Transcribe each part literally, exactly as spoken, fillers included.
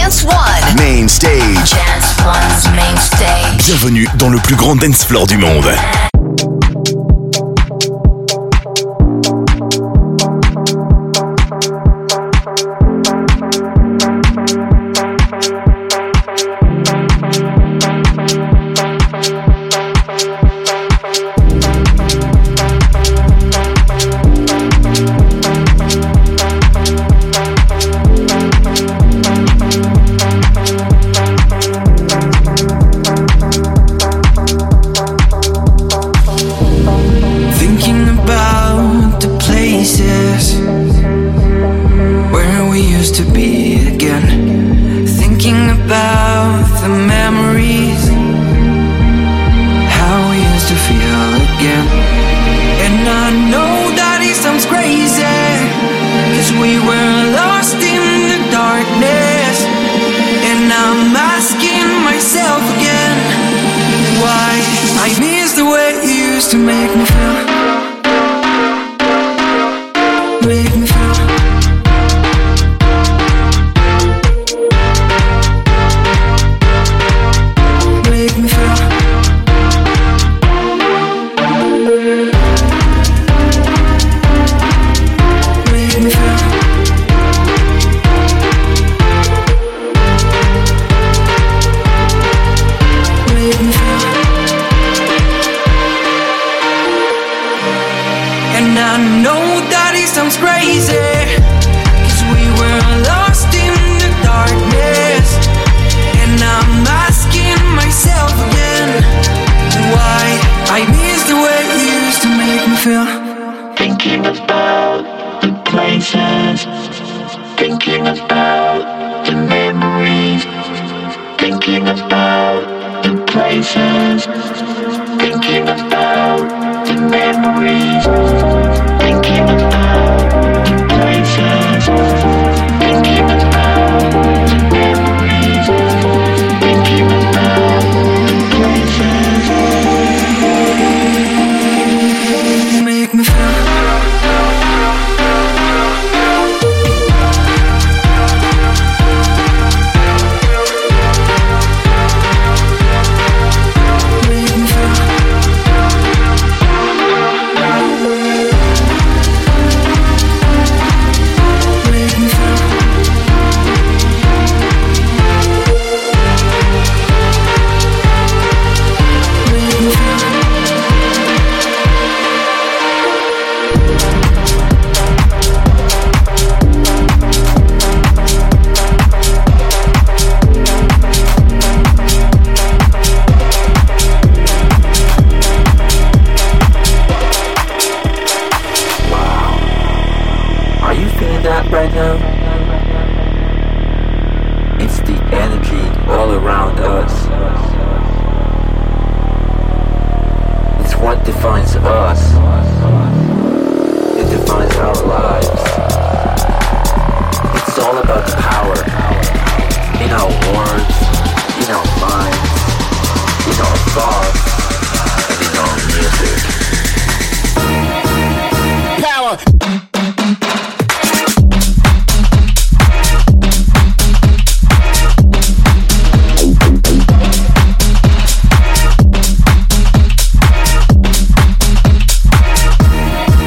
Dance One. Main Stage. Dance One's Main Stage. Bienvenue dans le plus grand dance floor du monde.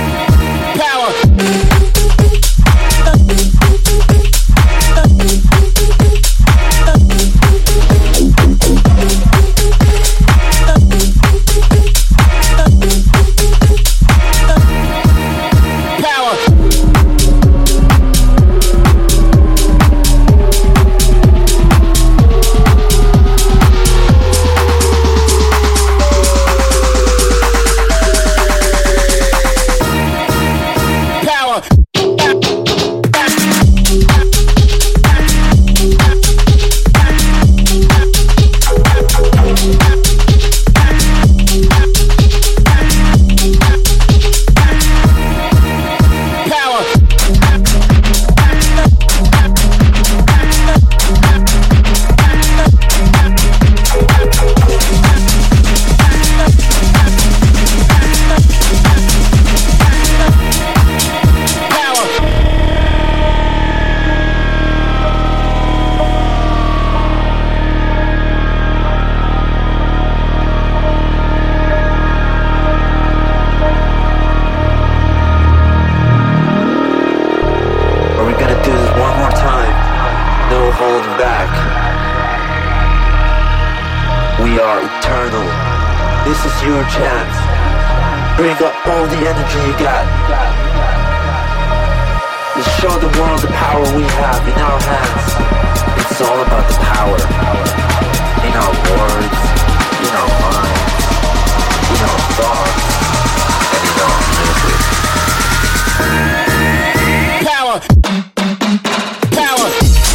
Power. holding back. We are eternal. This is your chance. Bring up all the energy you got. Let's show the world the power we have in our hands. It's all about the power. In our words, in our minds, in our thoughts, and in our music. Power! Power!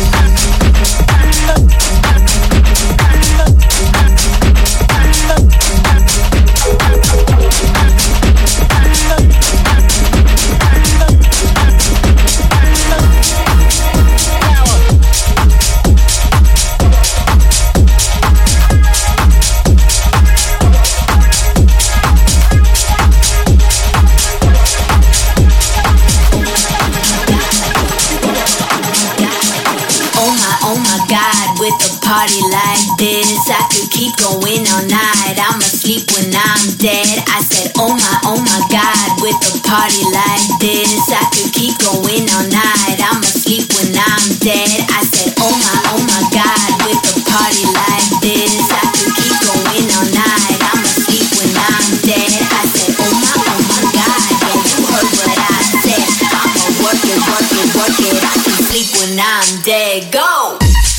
Party like this, I could keep going all night. I'ma sleep when I'm dead. I said, oh my, oh my God, with a party like this, I could keep going all night. I'ma sleep when I'm dead. I said, oh my, oh my God, with a party like this, I could keep going all night. I'ma sleep when I'm dead. I said, oh my, oh my God, yeah, you heard what I said. I'ma work it, work it, work it. I can sleep when I'm dead. Go!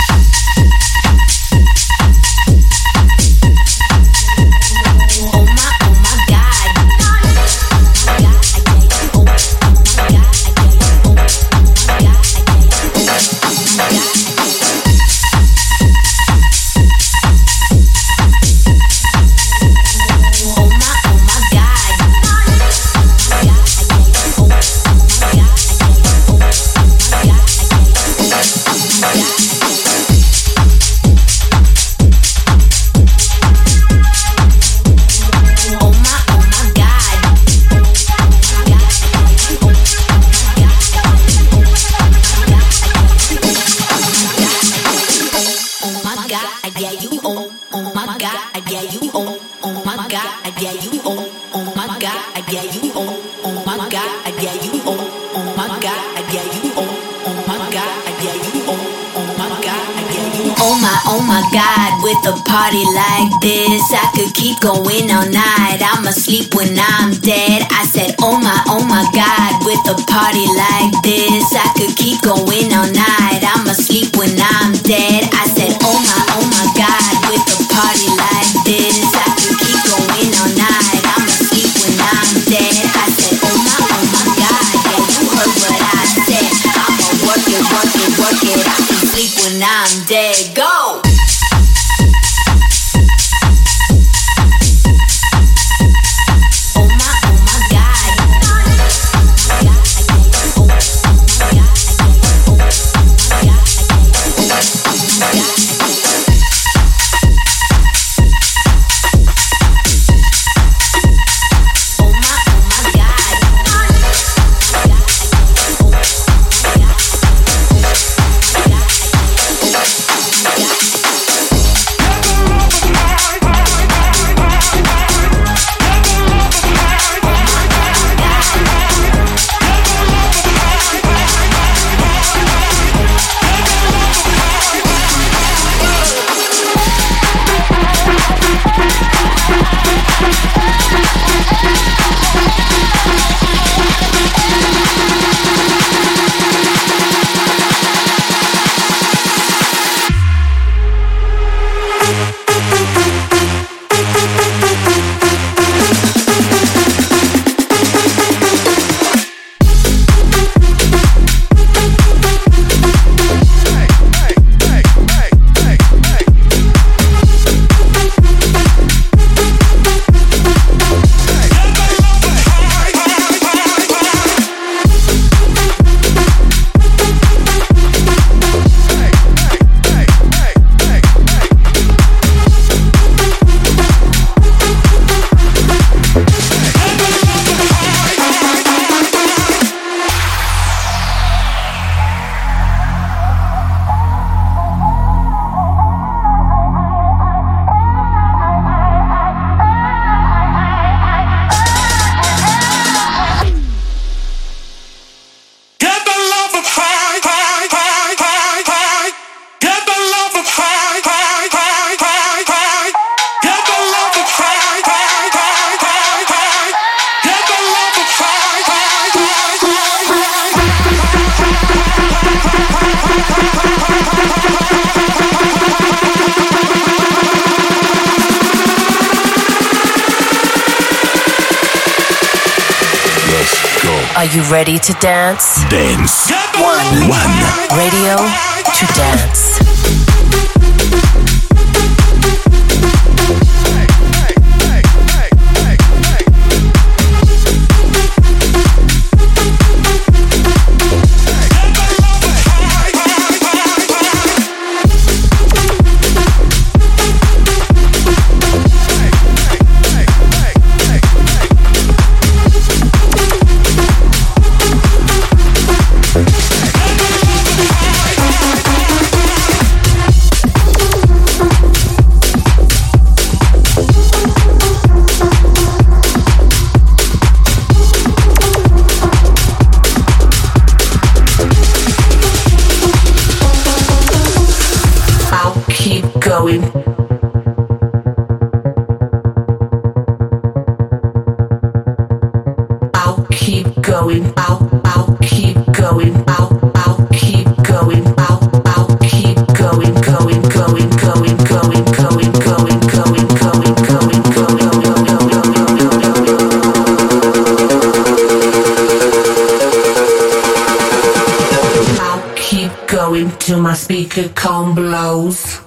Party like this, I could keep going all night. I'ma sleep when I'm dead. I said, oh my, oh my God, with a party like this, I could keep going all night. I'ma sleep when I'm dead. I said, oh my, oh my God, with a party like this, I could keep going all night. I'ma sleep when I'm dead. I said, oh my, oh my God, yeah, you heard what I said. I'ma work it, work it, work it. I can sleep when I'm dead. Go! Yeah. Are you ready to dance? Dance. One. One. Radio to dance. Going. I'll keep going. I'll I'll keep going. I'll I'll keep going. I'll I'll keep going. Going. Going. Going. Going. Going. Going. Going. Going. Going. Going. I'll keep going till my speaker cone blows.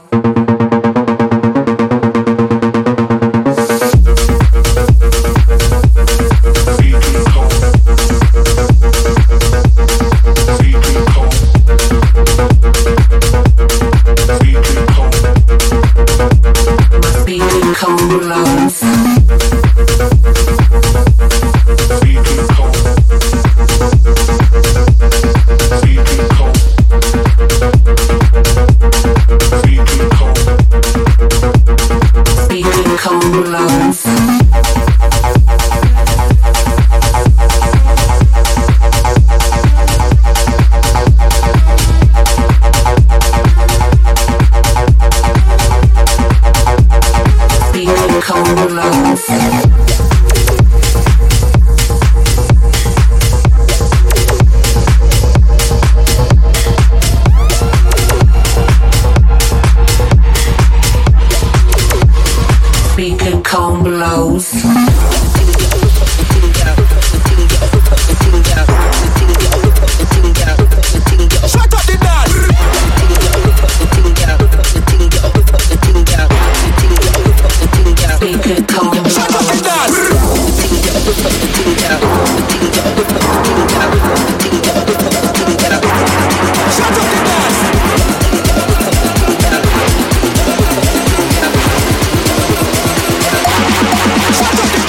Shut up!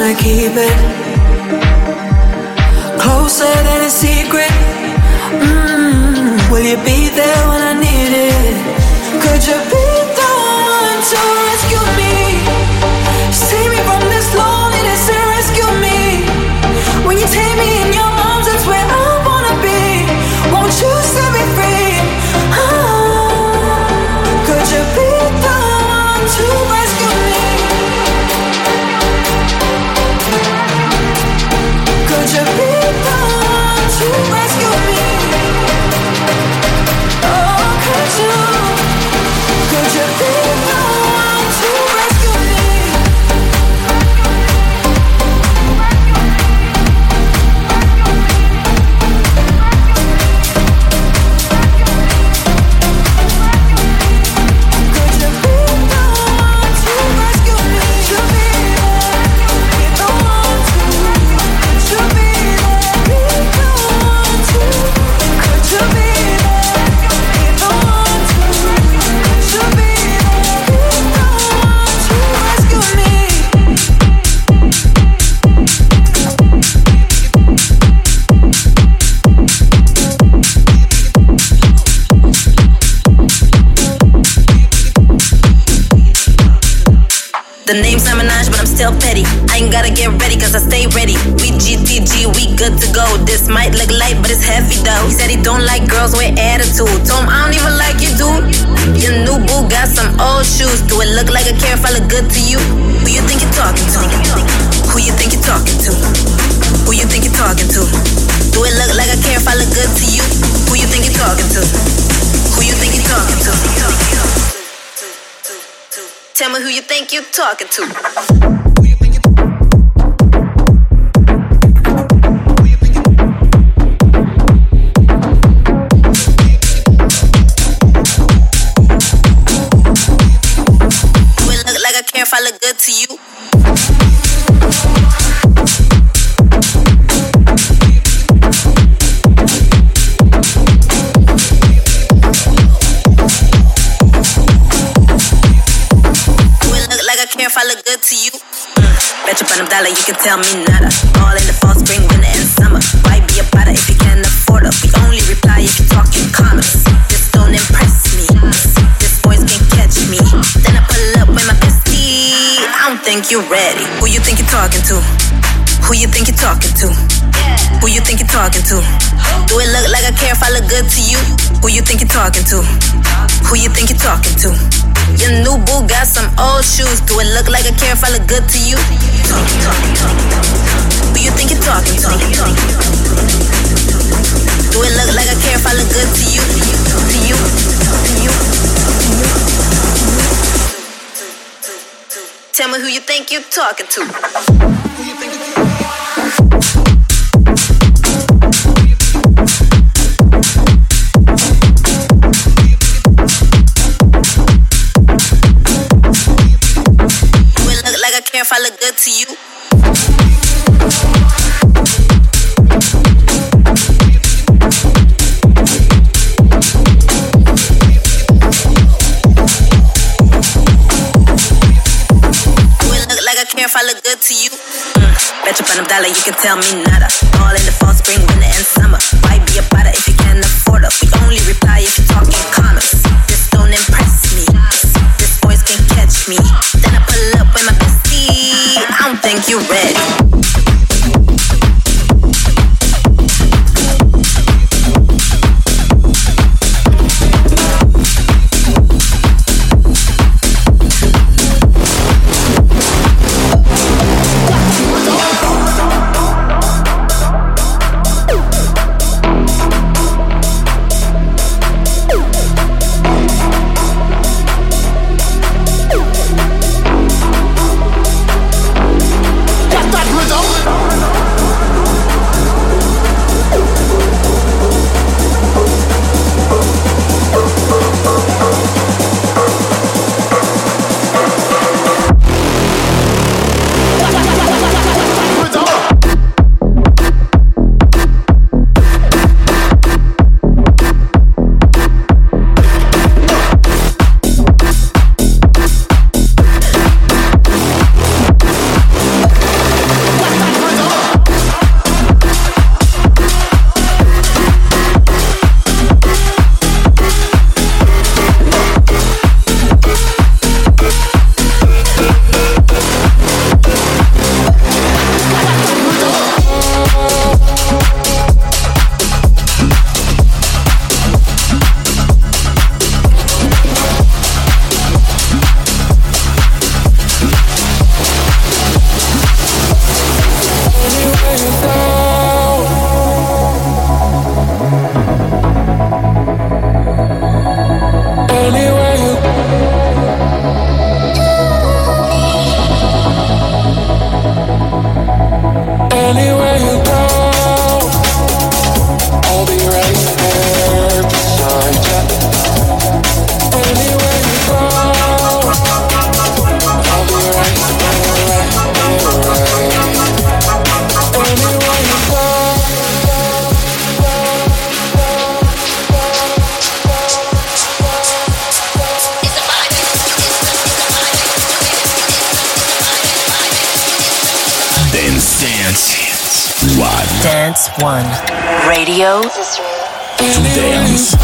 wanna keep it closer than a secret. Mm, will you be there when I need it? Could you be the one to rescue me? Save me from this loneliness and rescue me. When you take me in your arms, that's where I wanna be. Won't you set me free? Oh, could you be the one to rescue me? Could you be the one to rescue me? Oh, could you? Could you be the one to rescue me? The name's not Minaj, but I'm still petty. I ain't gotta get ready, cause I stay ready. We G T G, we good to go. This might look light, but it's heavy though. He said he don't like girls with attitude. Told him I don't even like you, dude. Your new boo got some old shoes. Do it look like I care if I look good to you? Who you think you're talking to? Who you think you're talking to? Who you think you're talking to? Do it look like I care if I look good to you? Who you think you're talking to? Who you think you're talking to? Tell me who you think you're talking to. Do it look like I care if I look good to you? If I look good to you, mm, bet you bottom dollar you can tell me nada. All in the fall, spring, winter, and summer. Why be a bother if you can't afford it? We only reply if you talk in commas. This don't impress me. This voice can't catch me. Then I pull up with my bestie. I don't think you're ready. Who you think you're talking to? Who you think you're talking to? Who you think you're talking to? Do it look like I care if I look good to you? Who you think you're talking to? Who you think you're talking to? Your new boo got some old shoes. Do it look like I care if I look good to you? Talk, talk, talk. Who you think you're talking to? Do it look like I care if I look good to you? To you? To you? Tell me who you think you're talking to. Who you think you're talking to? Like I care if I look good to you? Do it look like I care if I look good to you? Mm, bet you bottom dollar you can tell me nada. All in the fall, spring, winter, and summer. Why be a bother if you can't afford it? We only reply if you talk in commas. This don't impress me. This voice can't catch me. Then I pull up with my bestie. I don't think you're ready. Rhythm. Anywhere you go, I'll be right there beside you. Anywhere you go, I'll be right there, right there, right. Anywhere you go. Dance, dance, one. Dance one. Radio To dance.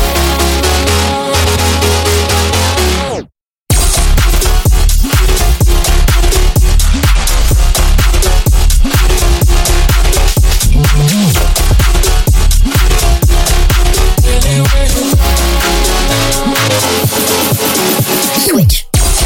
Switch.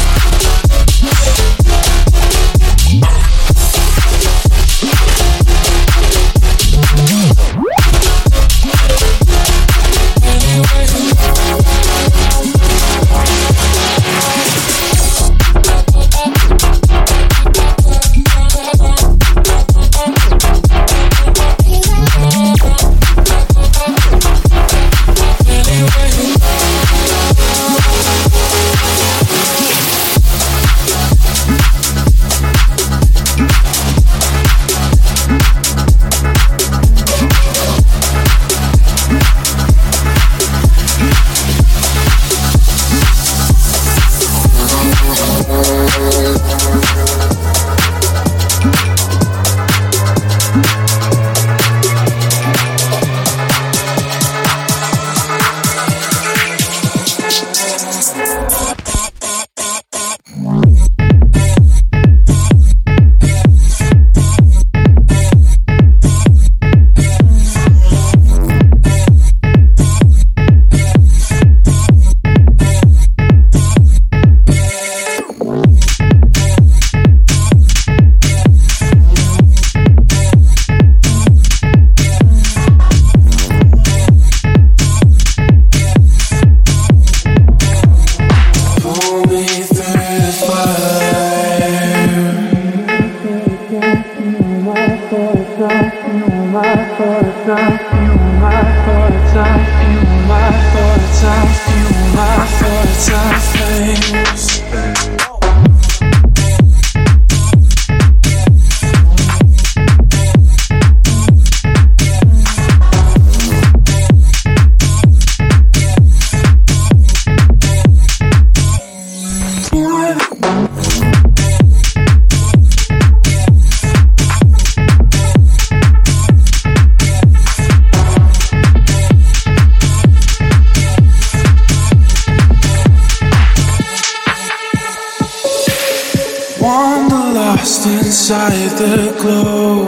Inside the glow,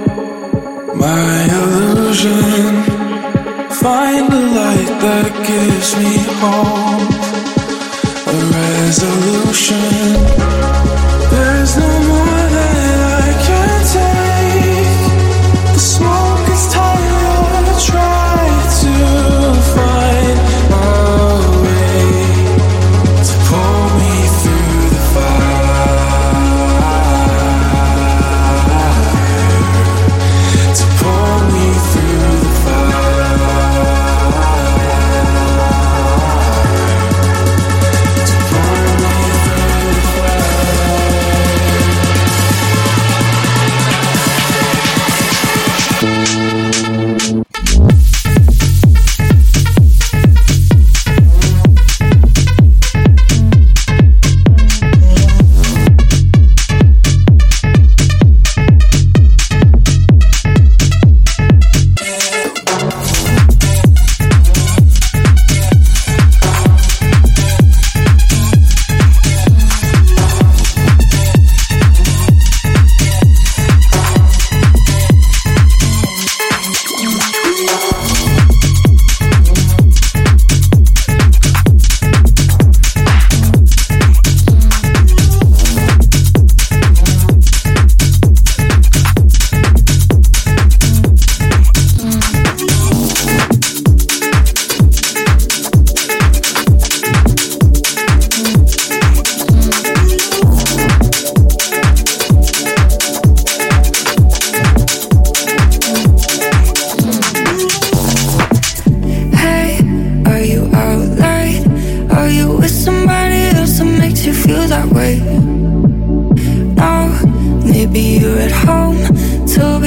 my illusion. Find a light that gives me hope, a resolution. There's no more that I can take. The smoke is tired, I try to find a way to pull me through the fire.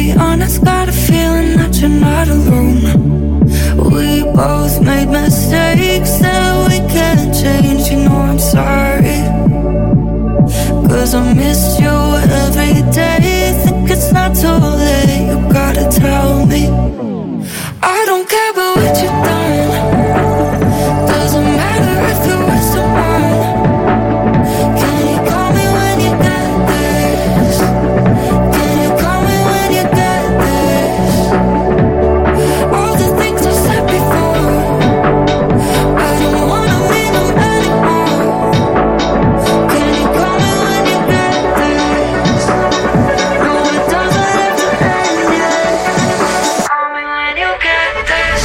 be honest, got a feeling that you're not alone. We both made mistakes that we can't change. You know I'm sorry, 'cause I miss you every day. Think it's not too late, you gotta tell me. I don't care about what you've done. Doesn't matter if you're with someone. Can you call me when you get this? Can you call me when you get this? All the things I said before, I don't wanna mean them anymore. Can you call me when you get this? No, it doesn't have to end yet. Call me when you get this.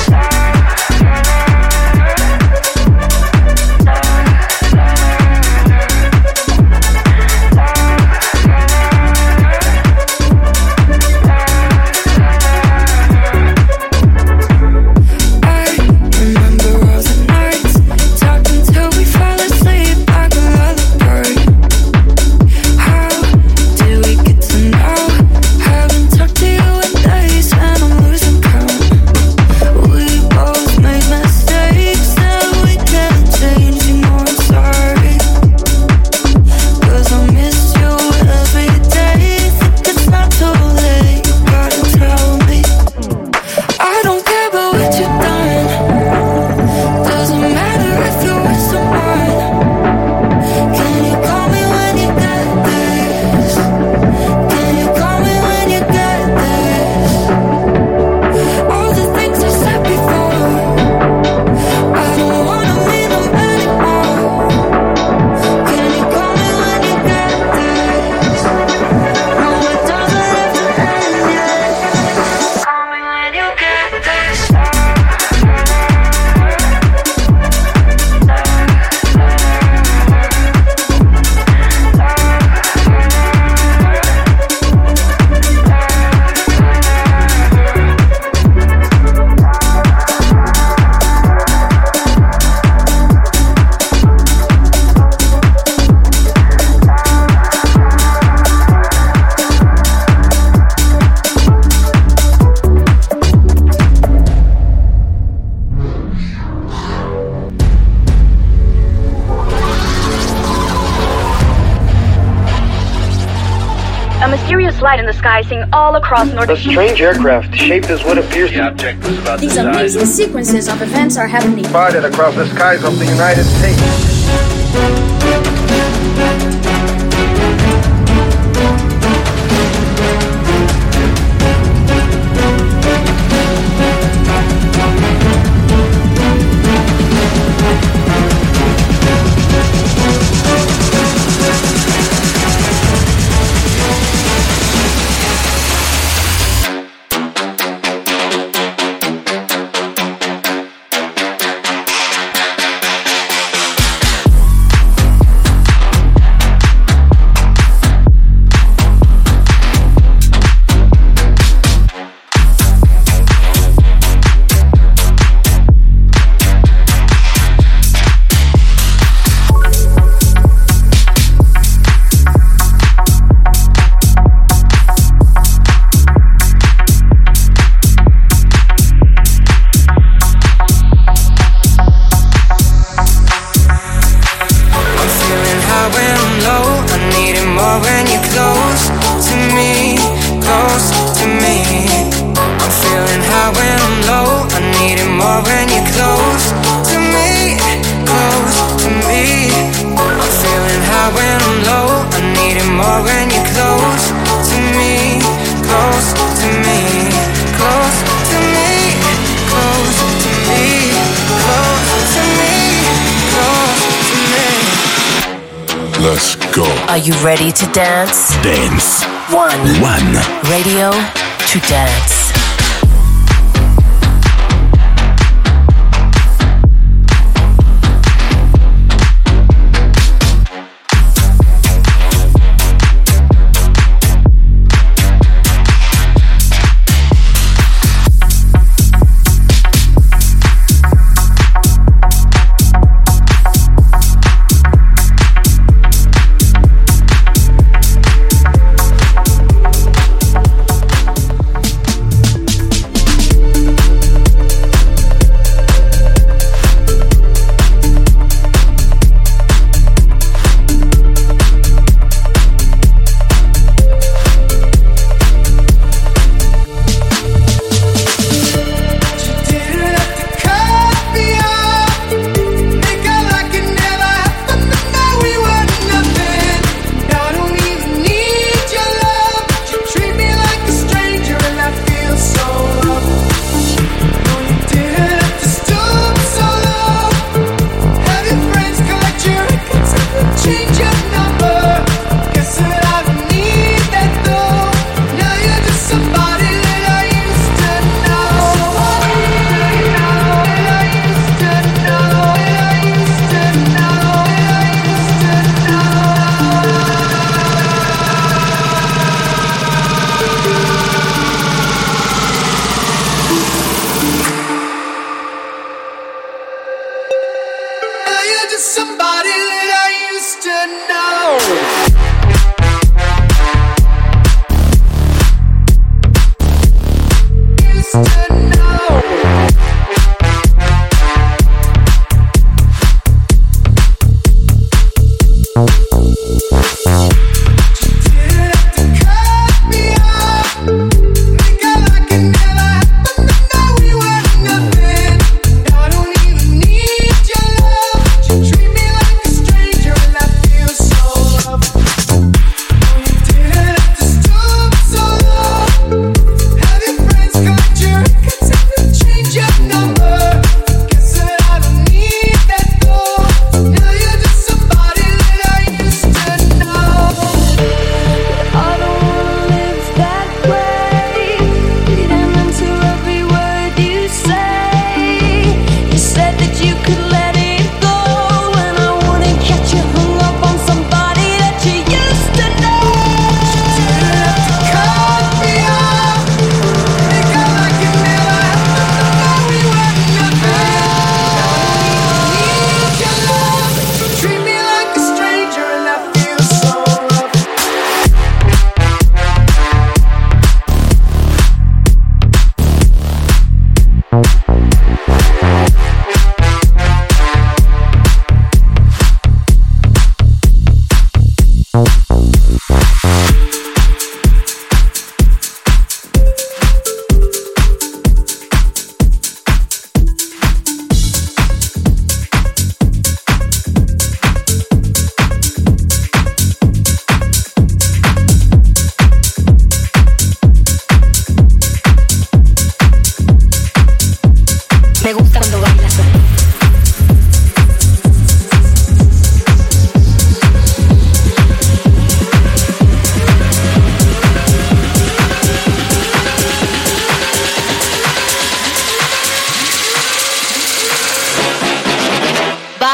Light in the sky, seeing all across North. A strange aircraft shaped as what appears to. The object was about These amazing sequences of events are happening. Spotted across the skies of the United States. Let's go. Are you ready to dance? Dance. One. One. Radio to dance.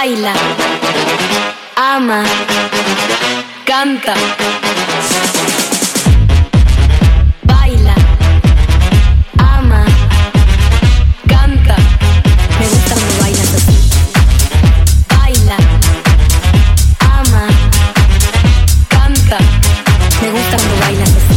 baila, ama, canta. Baila, ama, canta. Me gusta cuando bailas así. Baila, ama, canta. Me gusta cuando bailas así.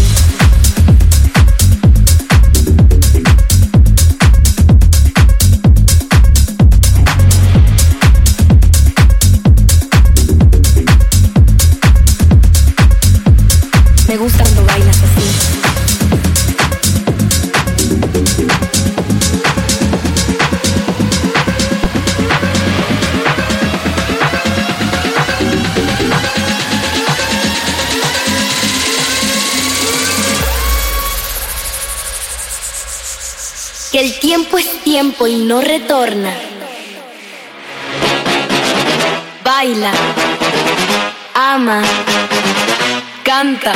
Me gusta cuando bailas así. Que el tiempo es tiempo y no retorna. Baila, ama, canta.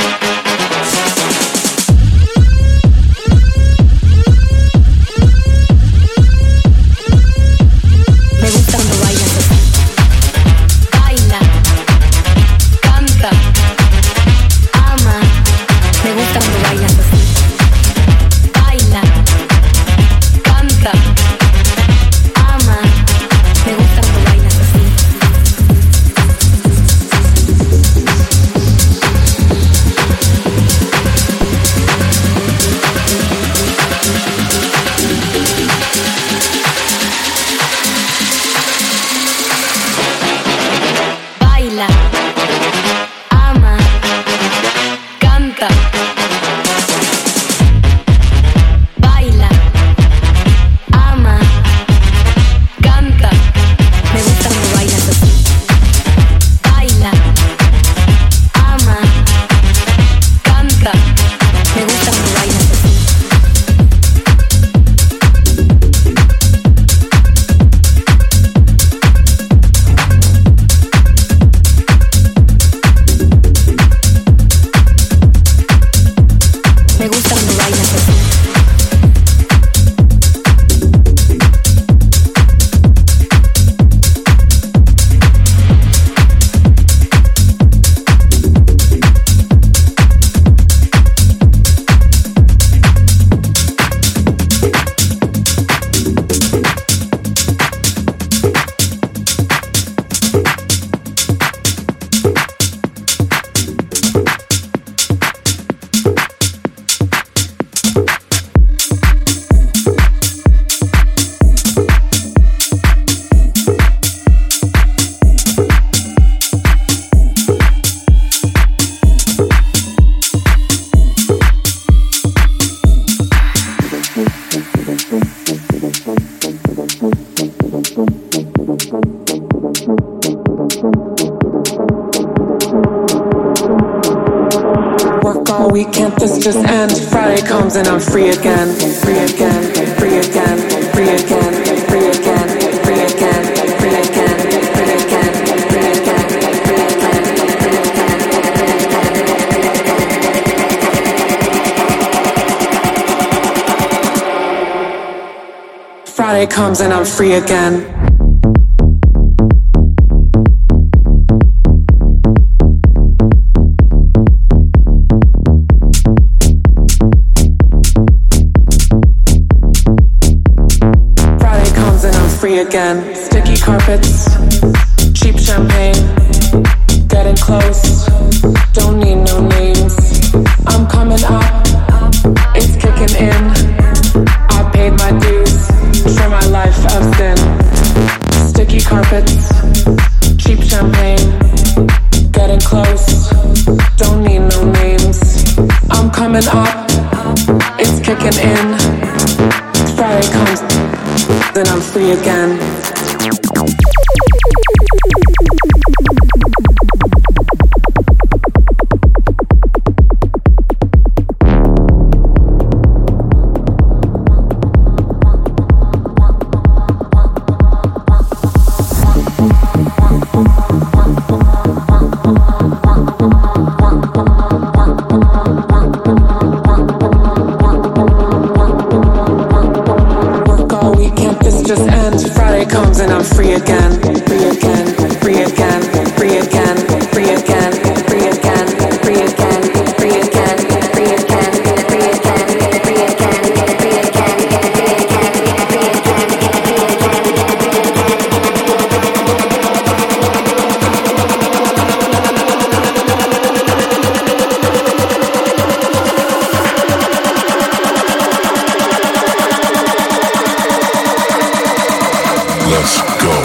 Me gusta cuando bailas así. Baila, canta, ama. Me gusta cuando bailas así. Baila, canta, ama. Me gusta cuando bailas así. Baila, ama, canta. Baila, ama, canta. Me gusta cuando bailas así. Baila, ama, canta. Me gusta cuando bailas así. Me gusta cuando bailas así. Work all weekend, this just ends. Friday comes and I'm free again, free again, free again, free again, free again, free again, free again, free again, free again, free again. Friday comes and I'm free again. Free again. Sticky carpets, cheap champagne, getting close, don't need no names. I'm coming up, it's kicking in. I paid my dues for my life of sin. Sticky carpets, cheap champagne, getting close, don't need no names. I'm coming up, it's kicking in. Friday comes, then I'm free again. Just ends, Friday comes and I'm free again, free again.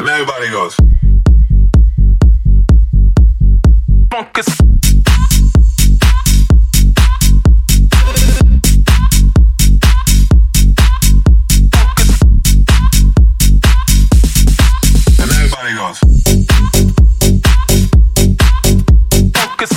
And everybody goes. Focus. And everybody goes. Focus.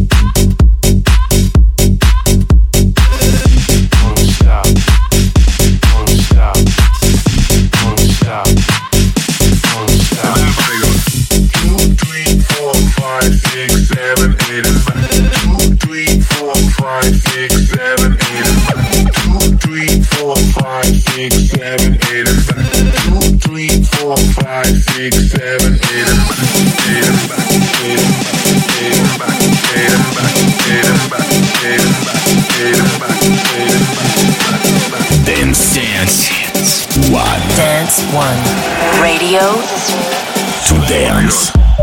Don't stop. Don't stop. Don't stop. Don't stop. And everybody goes. Two, three, four, five, six, seven, eight, and back. Two, three, four, five, six, seven, eight, and back. Two, three, four, five, six, seven, eight, and back. Two, three, four, five, six, seven, eight, and back. Eight and back. Eight and back. Eight and back. Eight and back. Eight and back. Eight and back. Eight and back. Eight and back. Back. Dance Dance One. Dance One. Radio to dance.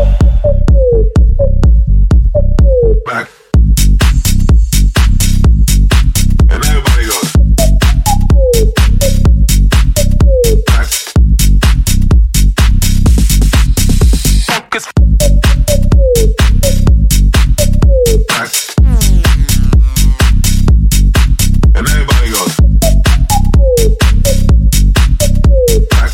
Back. And everybody goes. Back. Focus. Back. And everybody goes. Back.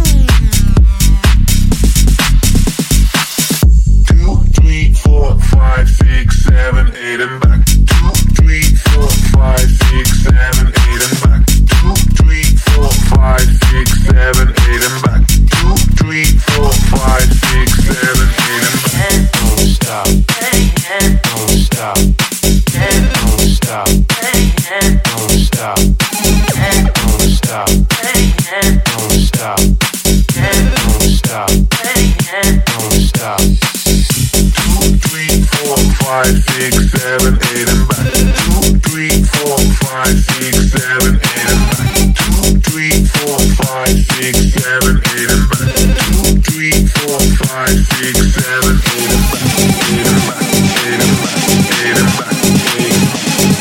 Two, three, four, five, six, seven, eight, and back. Two, three, four, five, six, seven, eight, and back. Two, three, four, five, six, seven, eight, and back. Two, three, four, five, six, seven, eight, and back. Don't stop. Don't stop. Don't stop. Don't stop. Don't stop. Don't stop. Don't stop. Don't stop. Two, three, four, five, six, seven, eight, and back. Two, three, four, five, six, seven, eight, and back. Two, three, four, five, six, seven, eight, and back. Two, three, four, five, six, seven, eight, and back. Eight and back. Eight and back. Eight and back. Eight and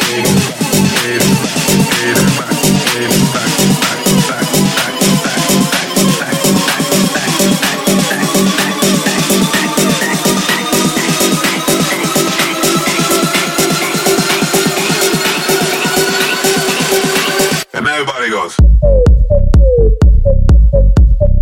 back. Eight and back. Back, back, back, back, back, back, back, back. And everybody goes.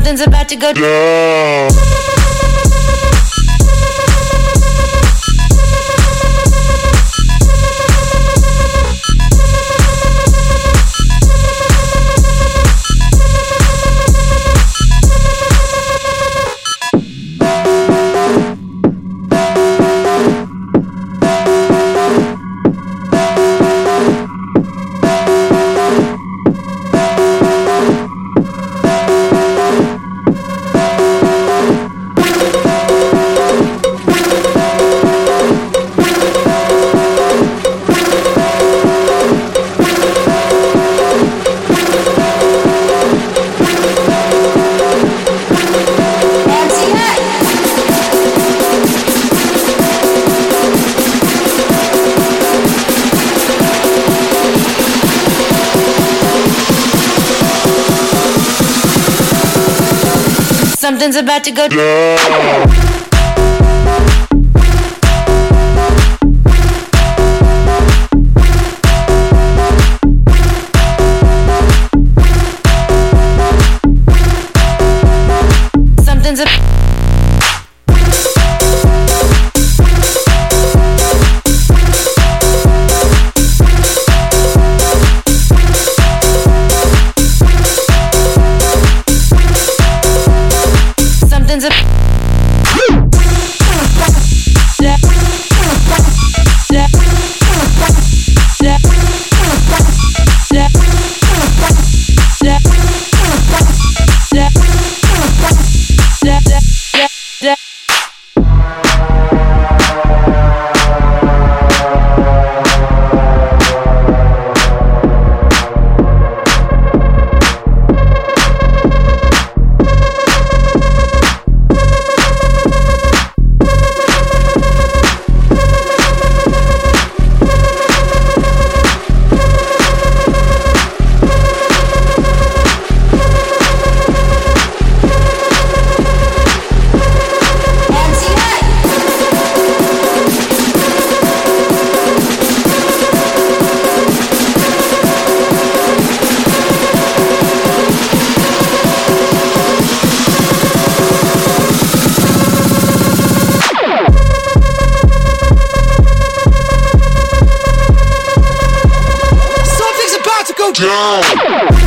Something's about to go down. Something's about to go down. Something's a Something's a Down.